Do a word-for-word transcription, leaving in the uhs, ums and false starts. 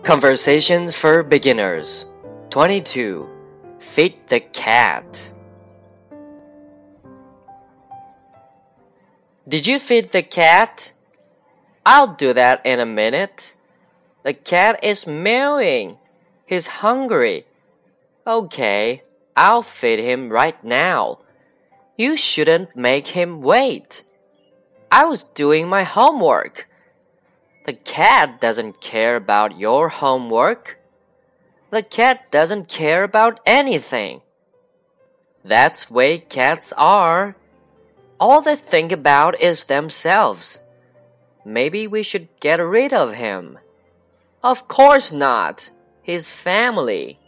Conversations for Beginners twenty-two. Feed the cat. Did you feed the cat? I'll do that in a minute. The cat is meowing. He's hungry. Okay, I'll feed him right now. You shouldn't make him wait. I was doing my homework.The cat doesn't care about your homework. The cat doesn't care about anything. That's way cats are. All they think about is themselves. Maybe we should get rid of him. Of course not. He's family.